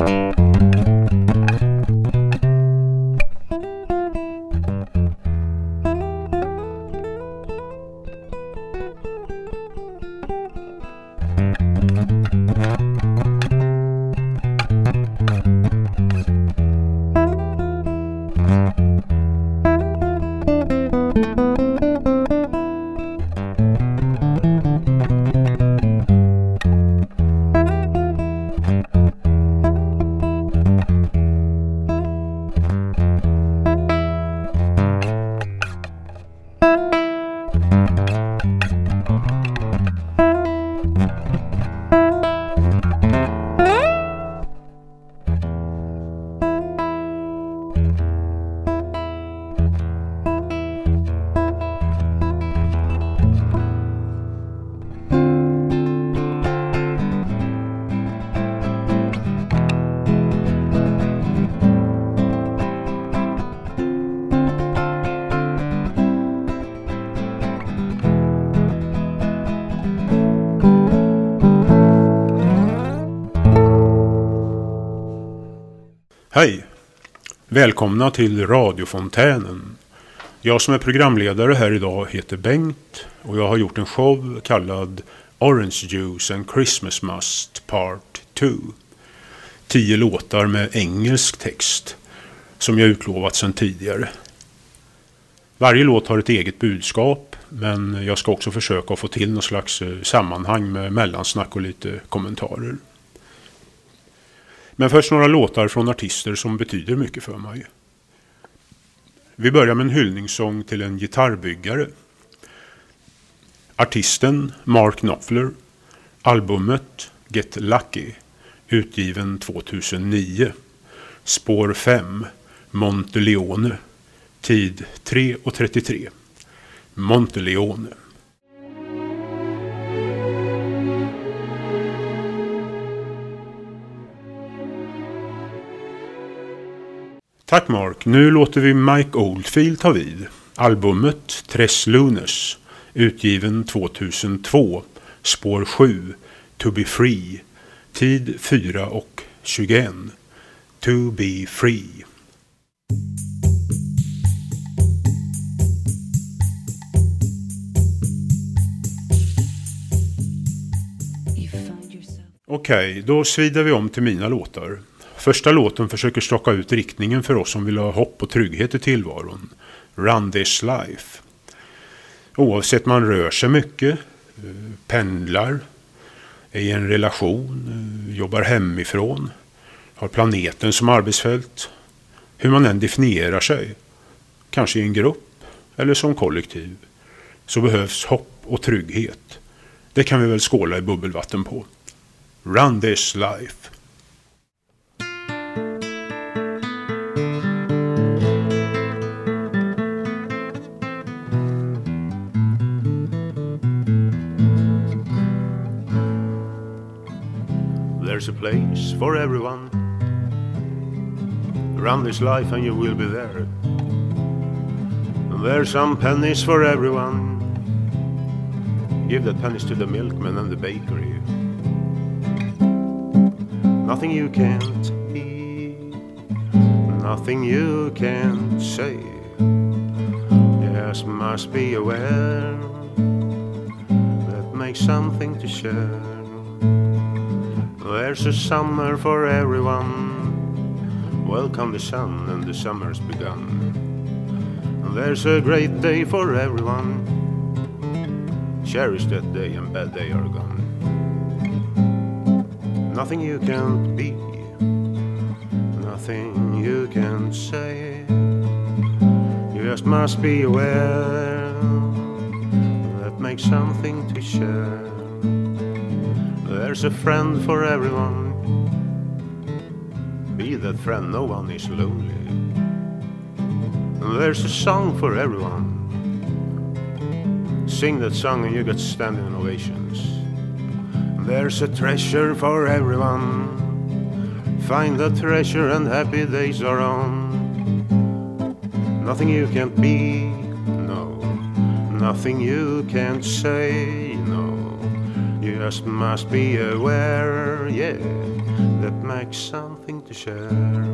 Hej! Välkomna till radiofontänen. Jag som är programledare här idag heter Bengt och jag har gjort en show kallad Orange Juice and Christmas Must Part 2. 10 låtar med engelsk text som jag utlovat sedan tidigare. Varje låt har ett eget budskap, men jag ska också försöka få till någon slags sammanhang med mellansnack och lite kommentarer. Men först några låtar från artister som betyder mycket för mig. Vi börjar med en hyllningssång till en gitarrbyggare. Artisten Mark Knopfler. Albumet Get Lucky, utgiven 2009. Spår 5, Monteleone. Tid 3:33. Monteleone. Tack Mark, nu låter vi Mike Oldfield ta vid. Albumet Tres Lunes, utgiven 2002, spår 7, To Be Free, tid 4:21. To Be Free. Okej, då svider vi om till mina låtar. Första låten försöker staka ut riktningen för oss som vill ha hopp och trygghet i tillvaron. Run This Life. Oavsett man rör sig mycket, pendlar, är i en relation, jobbar hemifrån, har planeten som arbetsfält. Hur man än definierar sig, kanske i en grupp eller som kollektiv, så behövs hopp och trygghet. Det kan vi väl skåla i bubbelvatten på. Run This Life. There's a place for everyone. Run this life and you will be there. There's some pennies for everyone. Give that pennies to the milkman and the bakery. Nothing you can't eat, nothing you can't say. Just must be aware that makes something to share. There's a summer for everyone. Welcome the sun and the summer's begun. There's a great day for everyone. Cherish that day and bad day are gone. Nothing you can't be, nothing you can't say. You just must be aware that makes something to share. There's a friend for everyone. Be that friend, no one is lonely. There's a song for everyone. Sing that song and you get standing ovations. There's a treasure for everyone. Find the treasure and happy days are on. Nothing you can't be, no. Nothing you can't say, no. You just must be aware, yeah. that makes something to share.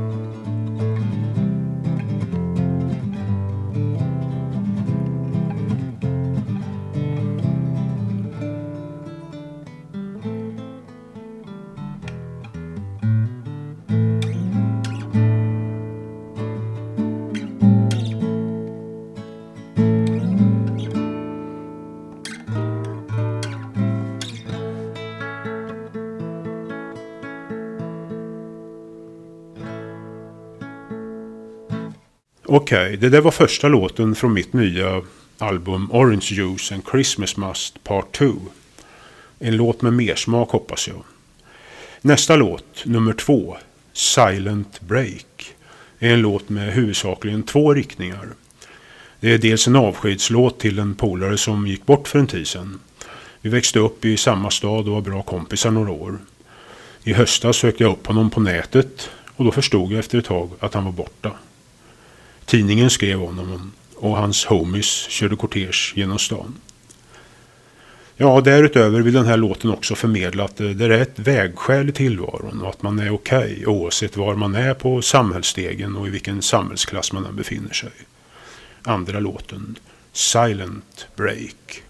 Okej, det där var första låten från mitt nya album Orange Juice and Christmas Must Part 2. En låt med mer smak hoppas jag. Nästa låt, nummer 2, Silent Break, är en låt med huvudsakligen 2 riktningar. Det är dels en avskedslåt till en polare som gick bort för en tid sedan. Vi växte upp i samma stad och var bra kompisar några år. I höstas sökte jag upp honom på nätet och då förstod jag efter ett tag att han var borta. Tidningen skrev om honom och hans homies körde kortege genom stan. Ja, därutöver vill den här låten också förmedla att det är ett vägskäl i tillvaron och att man är okej oavsett var man är på samhällsstegen och i vilken samhällsklass man än befinner sig. Andra låten, Silent Break.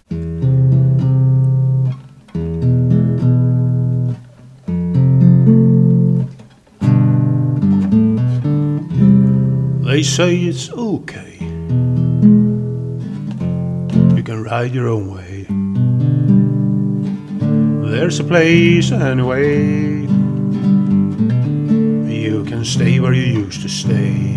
They say it's okay. You can ride your own way. There's a place anyway. You can stay where you used to stay.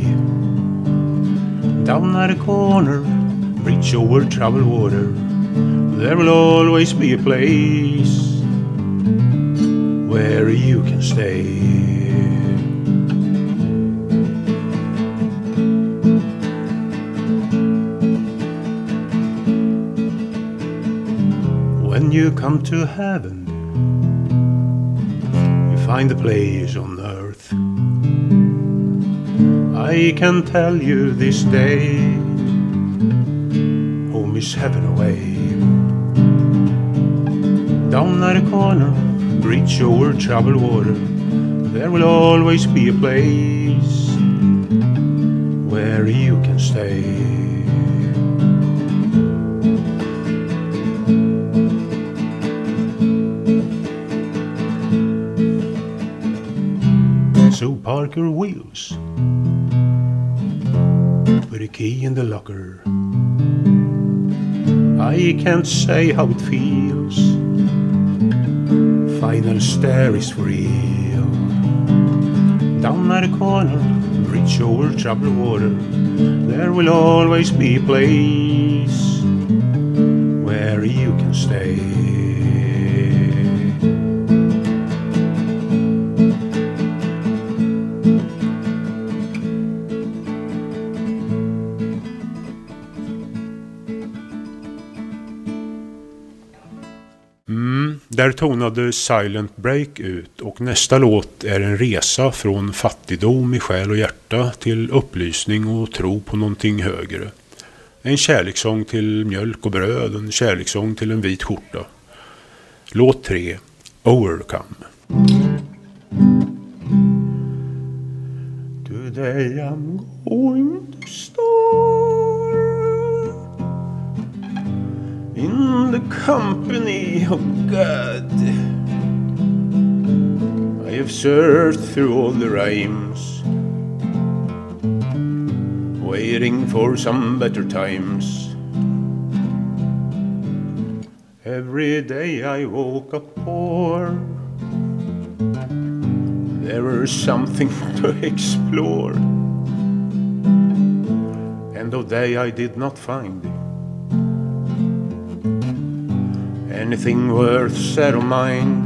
Down at a corner, reach over troubled water. There will always be a place where you can stay. When you come to heaven, you find a place on earth. I can tell you this day, home is heaven away. Down at a corner, reach over troubled water. There will always be a place where you can stay. So park your wheels, put a key in the locker. I can't say how it feels. Final stare is real. Down at a corner, reach over troubled water. There will always be a place where you can stay. Där tonade Silent Break ut och nästa låt är en resa från fattigdom i själ och hjärta till upplysning och tro på någonting högre. En kärlekssång till mjölk och bröd, en kärlekssång till en vit skjorta. Låt 3, Overcome. Today I'm going to start in the company of God. I have searched through all the rhymes, waiting for some better times. Every day I woke up poor. There was something to explore, and though day I did not find anything worth set of mind.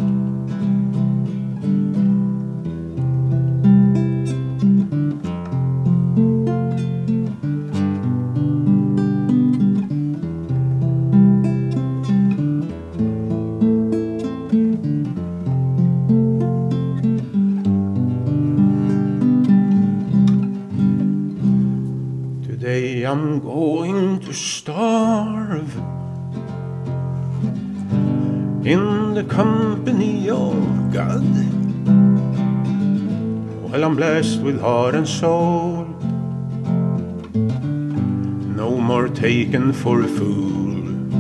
Today I'm going to starve in the company of God. Well, I'm blessed with heart and soul, no more taken for a fool.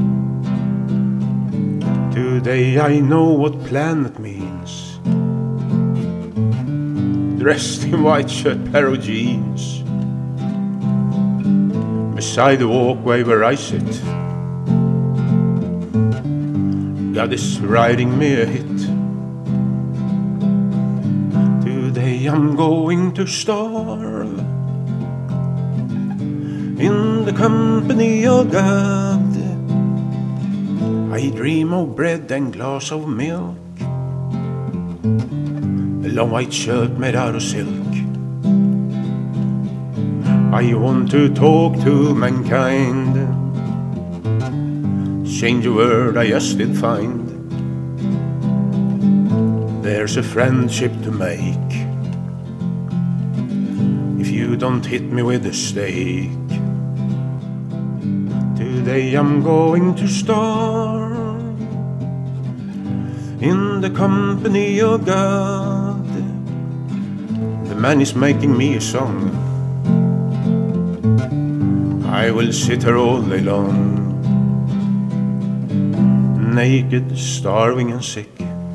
Today I know what planet means, dressed in white shirt, pair of jeans, beside the walkway where I sit, God is writing me a hit. Today I'm going to starve in the company of God. I dream of bread and glass of milk, a long white shirt made out of silk. I want to talk to mankind, change a word I just did find. There's a friendship to make if you don't hit me with a stake. Today I'm going to starve in the company of God. The man is making me a song, I will sit here all day long, naked, starving and sick,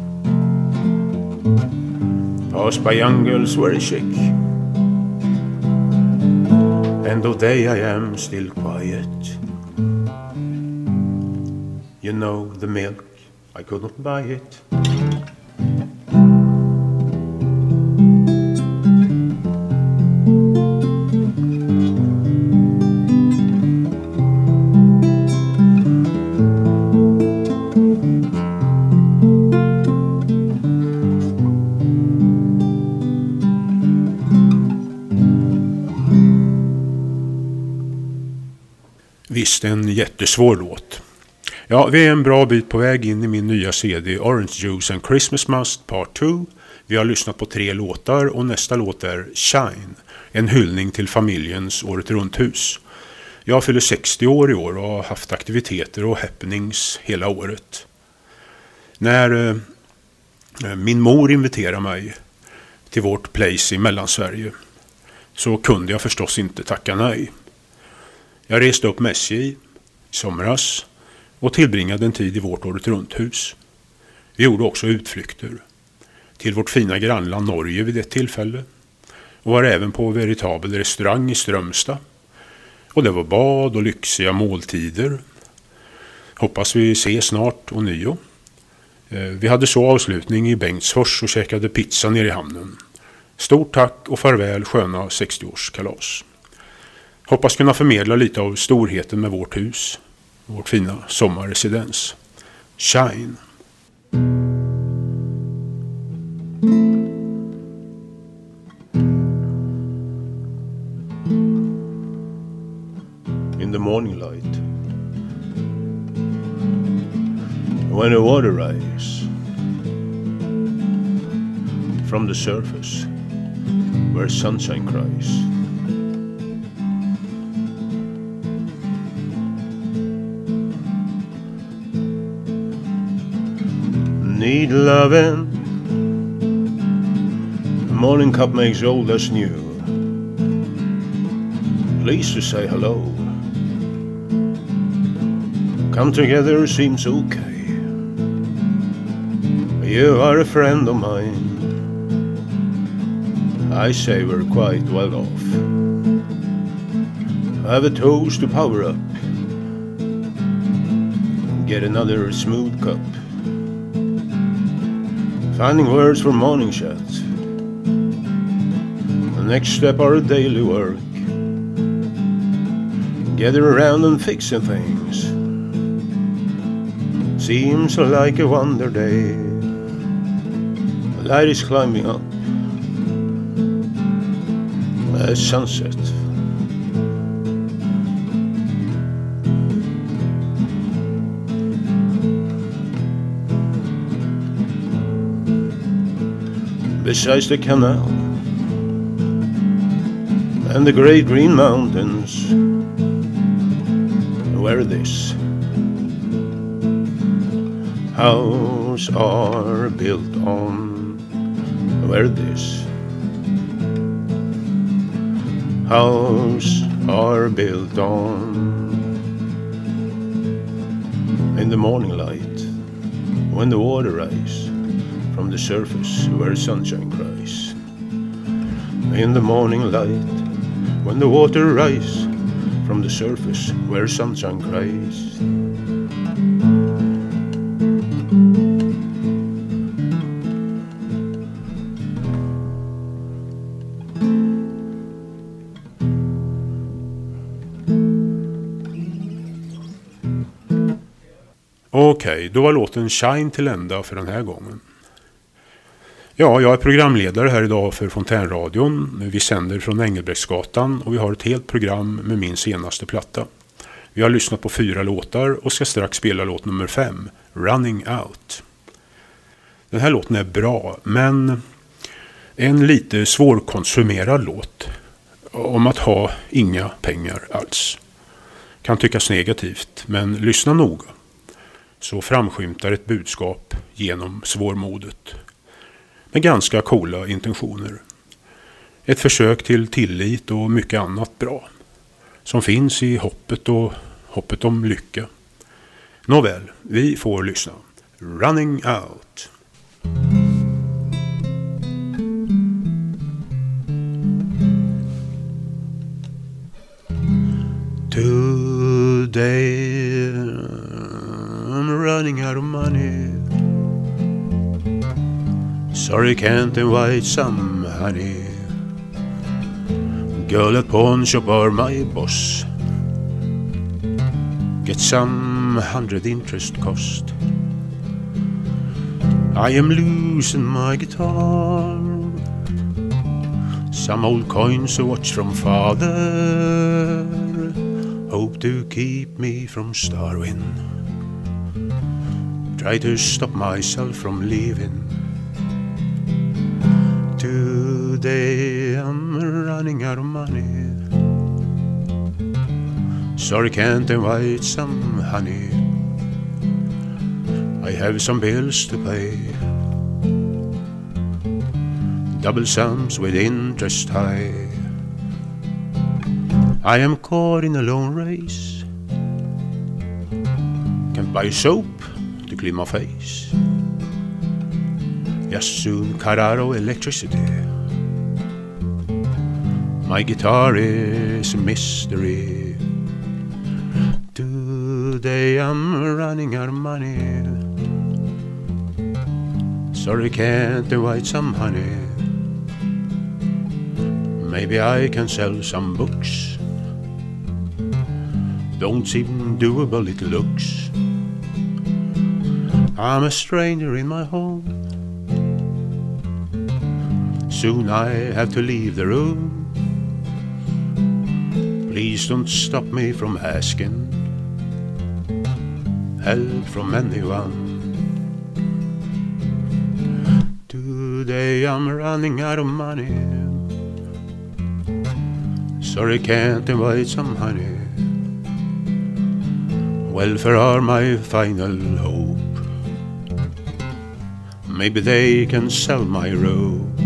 passed by young girls very chic. End of day I am still quiet. You know the milk, I could not buy it. Visst en jättesvår låt. Ja, vi är en bra bit på väg in i min nya CD Orange Juice and Christmas Must Part 2. Vi har lyssnat på 3 låtar och nästa låt är Shine, en hyllning till familjens året runt hus. Jag fyller 60 år i år och har haft aktiviteter och happenings hela året. När min mor inviterade mig till vårt place i Mellansverige så kunde jag förstås inte tacka nej. Jag reste upp med SJ i somras och tillbringade en tid i vårt året runt hus. Vi gjorde också utflykter till vårt fina grannland Norge vid ett tillfälle och var även på veritabel restaurang i Strömstad. Och det var bad och lyxiga måltider. Hoppas vi ses snart och nio. Vi hade så avslutning i Bengtsfors och käkade pizza nere i hamnen. Stort tack och farväl sköna 60-årskalas. Hoppas kunna förmedla lite av storheten med vårt hus, vårt fina sommarresidens. Shine. In the morning light, when the water rises from the surface where sunshine cries, need loving, the morning cup makes old as new, pleased to say hello, come together seems okay, you are a friend of mine, I say we're quite well off, have a toast to power up, get another smooth cup, finding words for morning chat, the next step our daily work, gather around and fixing things, seems like a wonder day, the light is climbing up at sunset. Besides the canal and the great green mountains, where this house are built on, where this house are built on. In the morning light, when the water rise from the surface where sunshine cries. In the morning light, when the water rise from the surface where sunshine cries. Okej, då var låten Shine till ända för den här gången. Ja, jag är programledare här idag för Fontänradion. Vi sänder från Engelbrektsgatan och vi har ett helt program med min senaste platta. Vi har lyssnat på 4 låtar och ska strax spela låt nummer 5, Running Out. Den här låten är bra, men en lite svårkonsumerad låt om att ha inga pengar alls. Kan tyckas negativt, men lyssna noga. Så framskymtar ett budskap genom svårmodet. Med ganska coola intentioner. Ett försök till tillit och mycket annat bra. Som finns i hoppet om lycka. Nåväl, vi får lyssna. Running Out. Today I'm running out of money. Sorry, can't invite some honey. Girl at pawn shop or my boss. Get some 100 interest cost. I am losing my guitar. Some old coins to watch from father. Hope to keep me from starving. Try to stop myself from leaving. Today I'm running out of money. Sorry, can't invite some honey. I have some bills to pay. Double sums with interest high. I am caught in a lone race. Can't buy soap to clean my face. Just soon cut out of electricity. My guitar is a mystery. Today I'm running out of money. Sorry, can't invite some honey. Maybe I can sell some books. Don't seem doable, it looks. I'm a stranger in my home. Soon I have to leave the room. Please don't stop me from asking help from anyone. Today I'm running out of money. Sorry, can't invite some honey. Welfare are my final hope. Maybe they can sell my rope,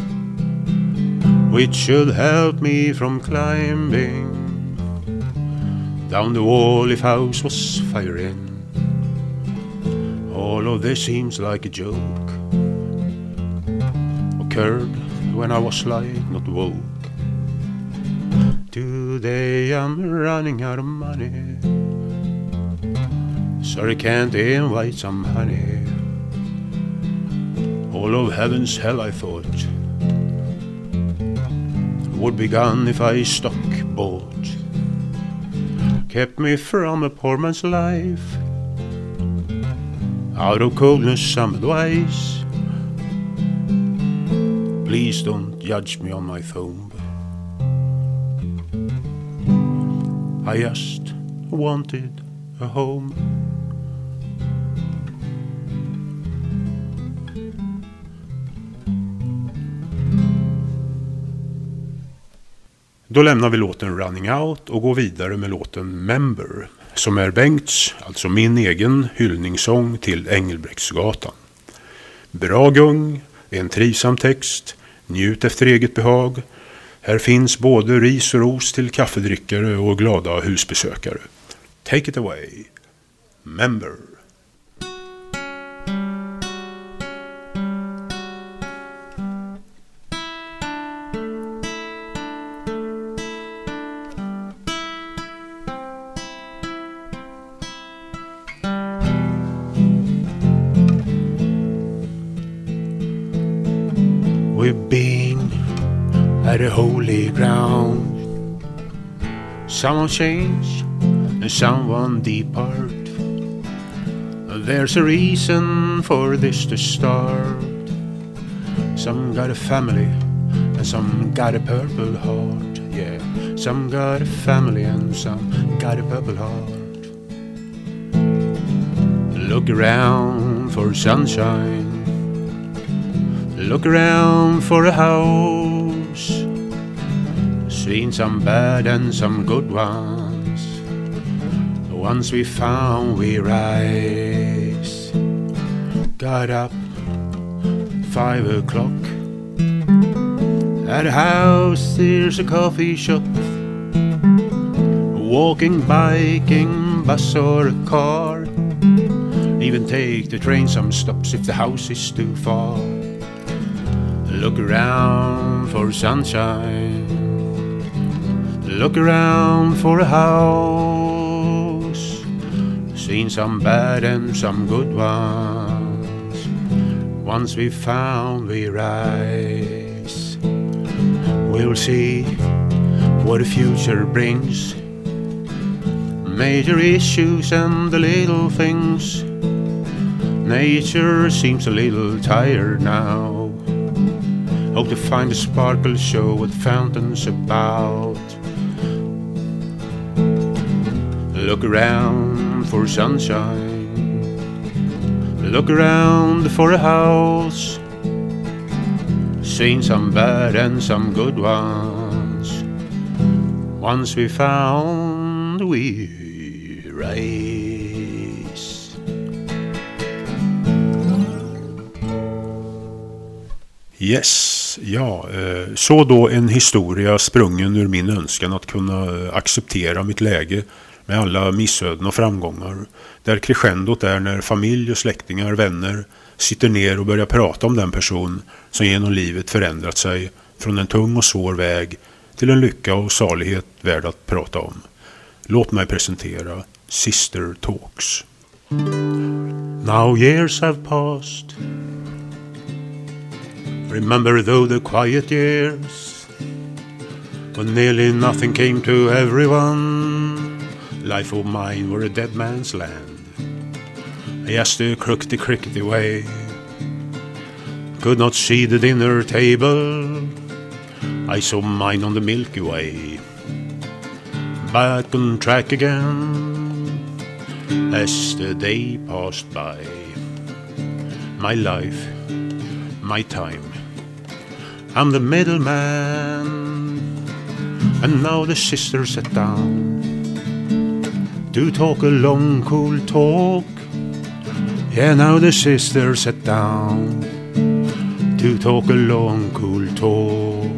which should help me from climbing down the wall if house was firing. All of this seems like a joke, occurred when I was like not woke. Today I'm running out of money. Sorry, can't invite some honey. All of heaven's hell I thought would be gone if I stock bought. Kept me from a poor man's life. Out of coldness some advice. Please don't judge me on my thumb. I just wanted a home. Då lämnar vi låten Running Out och går vidare med låten Member, som är Bengts, alltså min egen hyllningssång till Engelbrektsgatan. Bra gung, en trivsam text, njut efter eget behag. Här finns både ris och ros till kaffedrickare och glada husbesökare. Take it away, member. We've been at a holy ground. Someone change and someone depart. There's a reason for this to start. Some got a family and some got a purple heart. Yeah, some got a family and some got a purple heart. Look around for sunshine. Look around for a house. Seen some bad and some good ones. Once we found we rise. Got up 5 o'clock. At a house there's a coffee shop. Walking, biking, bus or a car. Even take the train some stops if the house is too far. Look around for sunshine. Look around for a house. Seen some bad and some good ones. Once we found we rise. We'll see what the future brings. Major issues and the little things. Nature seems a little tired now. Hope to find a sparkle show what fountains about. Look around for sunshine. Look around for a house. Seen some bad and some good ones. Once we found we rise. Yes, ja, så då en historia sprungen ur min önskan att kunna acceptera mitt läge med alla missöden och framgångar. Där crescendot är när familj och släktingar, vänner sitter ner och börjar prata om den person som genom livet förändrat sig från en tung och svår väg till en lycka och salighet värd att prata om. Låt mig presentera Sister Talks. Now years have passed. Remember though the quiet years when nearly nothing came to everyone. Life of mine were a dead man's land. Just the crickety way. Could not see the dinner table. I saw mine on the Milky Way. Back on track again as the day passed by. My life, my time. I'm the middleman. And now the sisters sat down to talk a long cool talk. Yeah, now the sisters sat down to talk a long cool talk.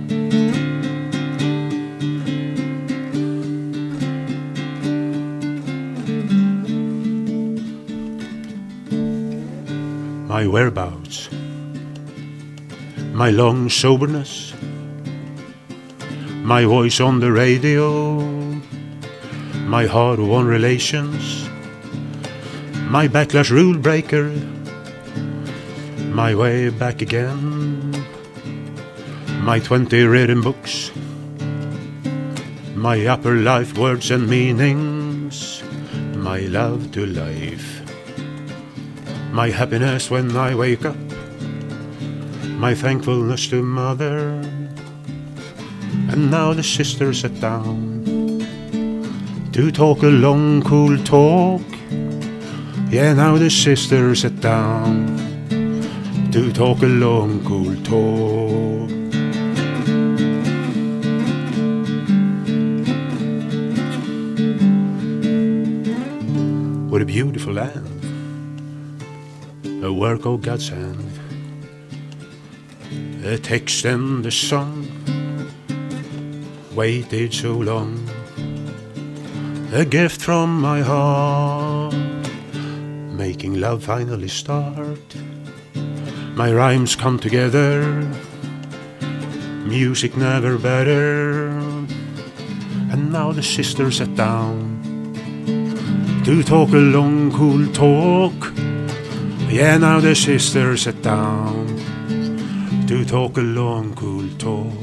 My whereabouts, my long soberness, my voice on the radio, my hard-won relations, my backlash rule breaker, my way back again, my 20 written books, my upper life words and meanings, my love to life, my happiness when I wake up, my thankfulness to mother. And now the sisters sat down to talk a long cool talk. Yeah, now the sisters sat down to talk a long cool talk. What a beautiful land, a work of God's hand, a text and a song, waited so long. A gift from my heart, making love finally start. My rhymes come together, music never better. And now the sisters sat down to talk a long cool talk. Yeah, now the sisters sat down to talk a long cool talk.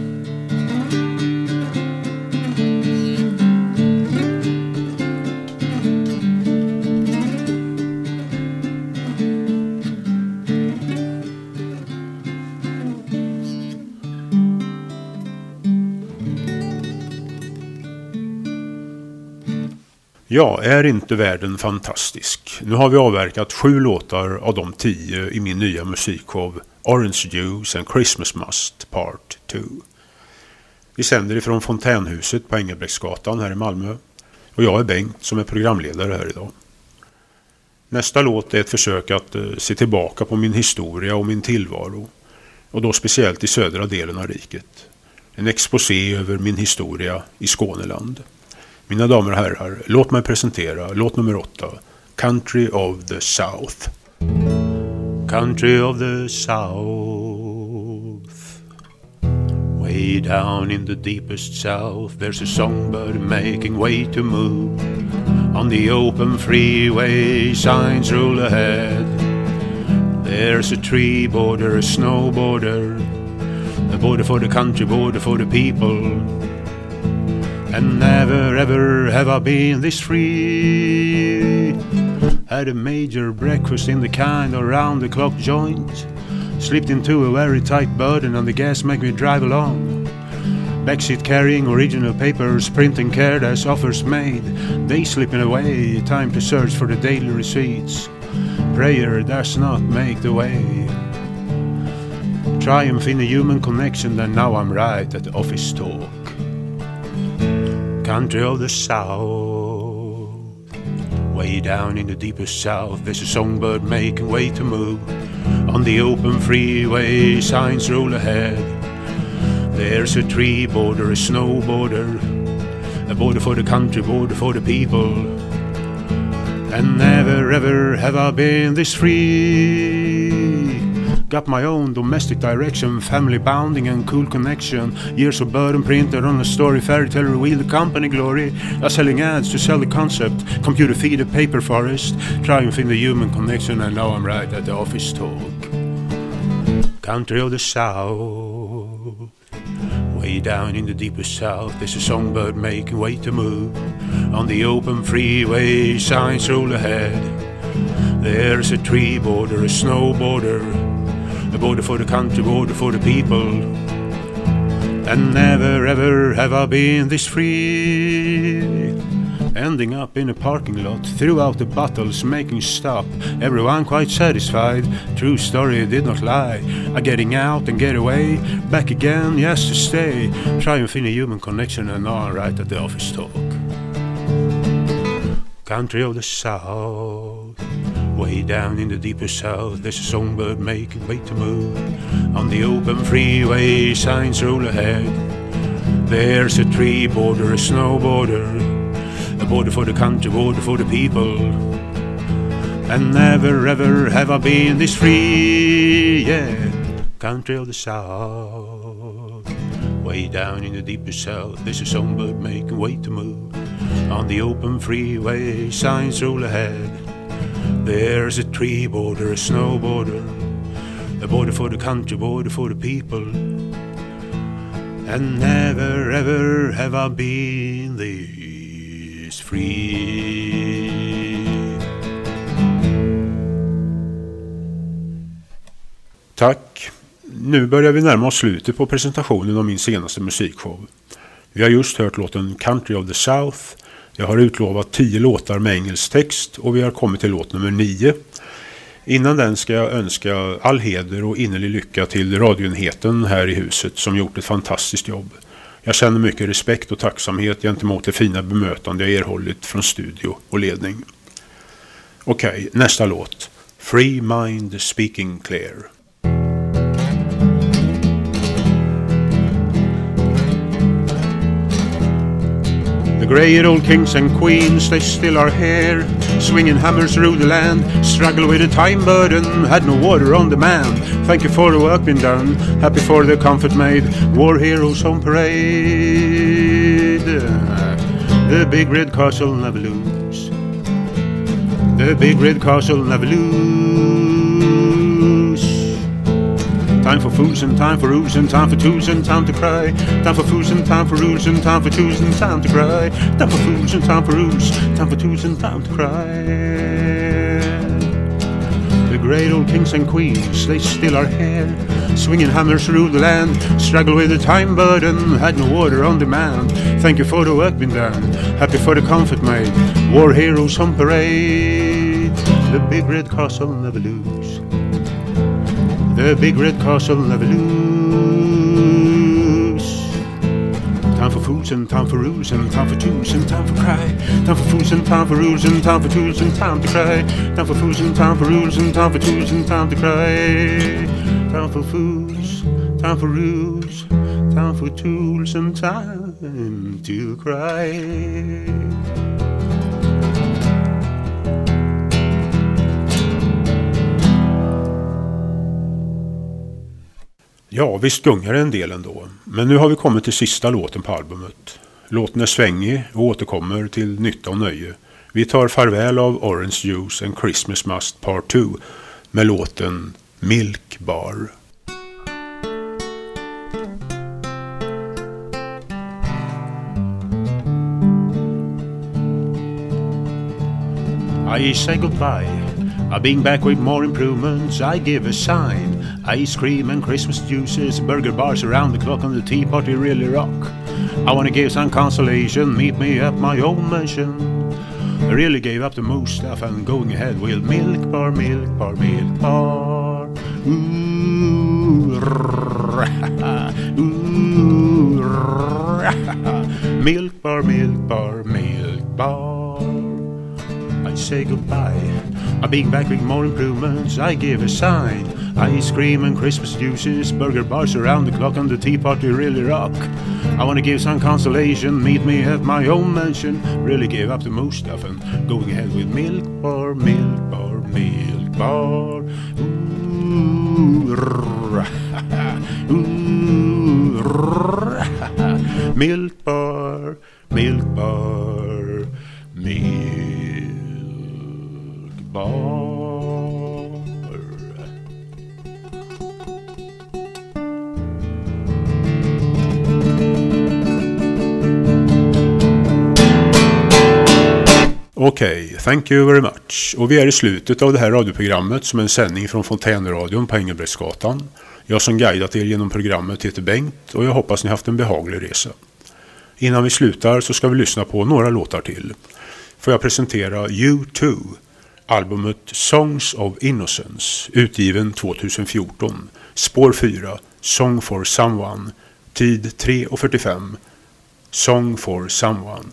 Ja, är inte världen fantastisk? Nu har vi avverkat 7 låtar av de 10 i min nya musikshow Orange Juice and Christmas Must Part 2. Vi sänder ifrån Fontänhuset på Engelbrektsgatan här i Malmö. Och jag är Bengt som är programledare här idag. Nästa låt är ett försök att se tillbaka på min historia och min tillvaro. Och då speciellt i södra delen av riket. En exposé över min historia i Skåneland. Mina damer och herrar, låt mig presentera låt nummer 8, Country of the South. Country of the South. Way down in the deepest south, there's a songbird making way to move. On the open freeway, signs roll ahead. There's a tree border, a snow border, a border for the country, border for the people. And never ever have I been this free. Had a major breakfast in the kind of round-the-clock joint. Slipped into a very tight burden and the gas make me drive along. Backseat carrying original papers, printing cared as offers made. They slipping away, time to search for the daily receipts. Prayer does not make the way. Triumph in a human connection, and now I'm right at the office talk. Country of the South. Way down in the deepest south, there's a songbird making way to move. On the open freeway, signs roll ahead. There's a tree border, a snow border, a border for the country, border for the people. And never ever have I been this free. Got my own domestic direction, family bounding and cool connection. Years of burden printed on a story, fairy tale reveal the company glory. I'm selling ads to sell the concept, computer feed a paper forest. Triumph in the human connection, and now I'm right at the office talk. Country of the South. Way down in the deepest south, there's a songbird making way to move. On the open freeway, signs roll ahead. There's a tree border, a snow border, a border for the country, border for the people. And never ever have I been this free. Ending up in a parking lot, throughout the battles making stop. Everyone quite satisfied, true story did not lie. I'm getting out and get away, back again, yes to stay. Triumph in a human connection, and now I'm right at the office talk. Country of the South. Way down in the deepest south, there's a songbird making way to move. On the open freeway, signs roll ahead. There's a tree border, a snow border, a border for the country, border for the people. And never ever have I been this free, yeah. Country of the South. Way down in the deepest south, there's a songbird making way to move. On the open freeway, signs roll ahead. There's a tree border, a snow border, a border for the country, border for the people. And never ever have I been this free. Tack. Nu börjar vi närma oss slutet på presentationen av min senaste musikshow. Vi har just hört låten Country of the South. Jag har utlovat 10 låtar med engelsk text och vi har kommit till låt nummer 9. Innan den ska jag önska all heder och innerlig lycka till radioenheten här i huset som gjort ett fantastiskt jobb. Jag känner mycket respekt och tacksamhet gentemot det fina bemötande jag erhållit från studio och ledning. Okej, nästa låt. Free Mind Speaking Clear. The great old kings and queens, they still are here, swinging hammers through the land, struggle with a time burden, had no water on demand. Thank you for the work been done, happy for the comfort made, war heroes on parade. The big red castle never lose, the big red castle never lose. Time for fools and time for rules and time for twos and time to cry. Time for fools and time for rules and time for twos and time to cry. Time for fools and time for rules, time for twos and time to cry. The great old kings and queens, they still are here, swinging hammers through the land, struggle with the time burden, had no water on demand. Thank you for the work been done, happy for the comfort made, war heroes on parade. The big red castle never lose, the big red castle never lose. Time for fools and time for rules and time for twos and time for cry. Time for fools and time for rules and time for twos and time to cry. Time for fools and time for rules and time for twos and time to cry. Time for fools, time for rules, time for tools and time to cry. Ja, visst gungar en del ändå. Men nu har vi kommit till sista låten på albumet. Låten är svängig och återkommer till nytta och nöje. Vi tar farväl av Orange Juice and Christmas Must Part 2 med låten Milk Bar. I say goodbye, I'll be back with more improvements, I give a sign. Ice cream and Christmas juices, burger bars around the clock, and the tea party really rock. I wanna give some consolation, meet me at my own mansion. I really gave up the most stuff and going ahead with Milk Bar, Milk Bar, Milk Bar. Ooh, ooh, Milk Bar, Milk Bar, Milk Bar. I say goodbye, I'll be back with more improvements, I give a sign. Ice cream and Christmas juices, burger bars around the clock, and the tea party really rock. I wanna give some consolation, meet me at my own mansion. Really gave up the most stuff and going ahead with Milk Bar, Milk Bar, Milk Bar. Ooh, ooh, Milk Bar, Milk Bar, Milk Bar. Okej, thank you very much. Och vi är i slutet av det här radioprogrammet som är en sändning från Fontänradion på Engelbrektsgatan. Jag som guidat er genom programmet heter Bengt och jag hoppas ni haft en behaglig resa. Innan vi slutar så ska vi lyssna på några låtar till. Får jag presentera U2, albumet Songs of Innocence, utgiven 2014, spår 4, Song for Someone, tid 3:45, Song for Someone.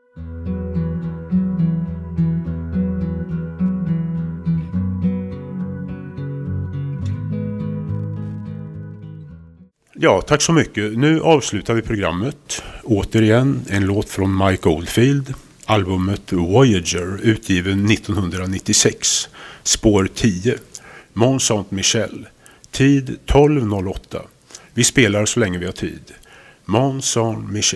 Ja, tack så mycket. Nu avslutar vi programmet. Återigen en låt från Mike Oldfield. Albumet Voyager, utgiven 1996. Spår 10. Mont Saint-Michel. Tid 12:08. Vi spelar så länge vi har tid. Mont Saint-Michel.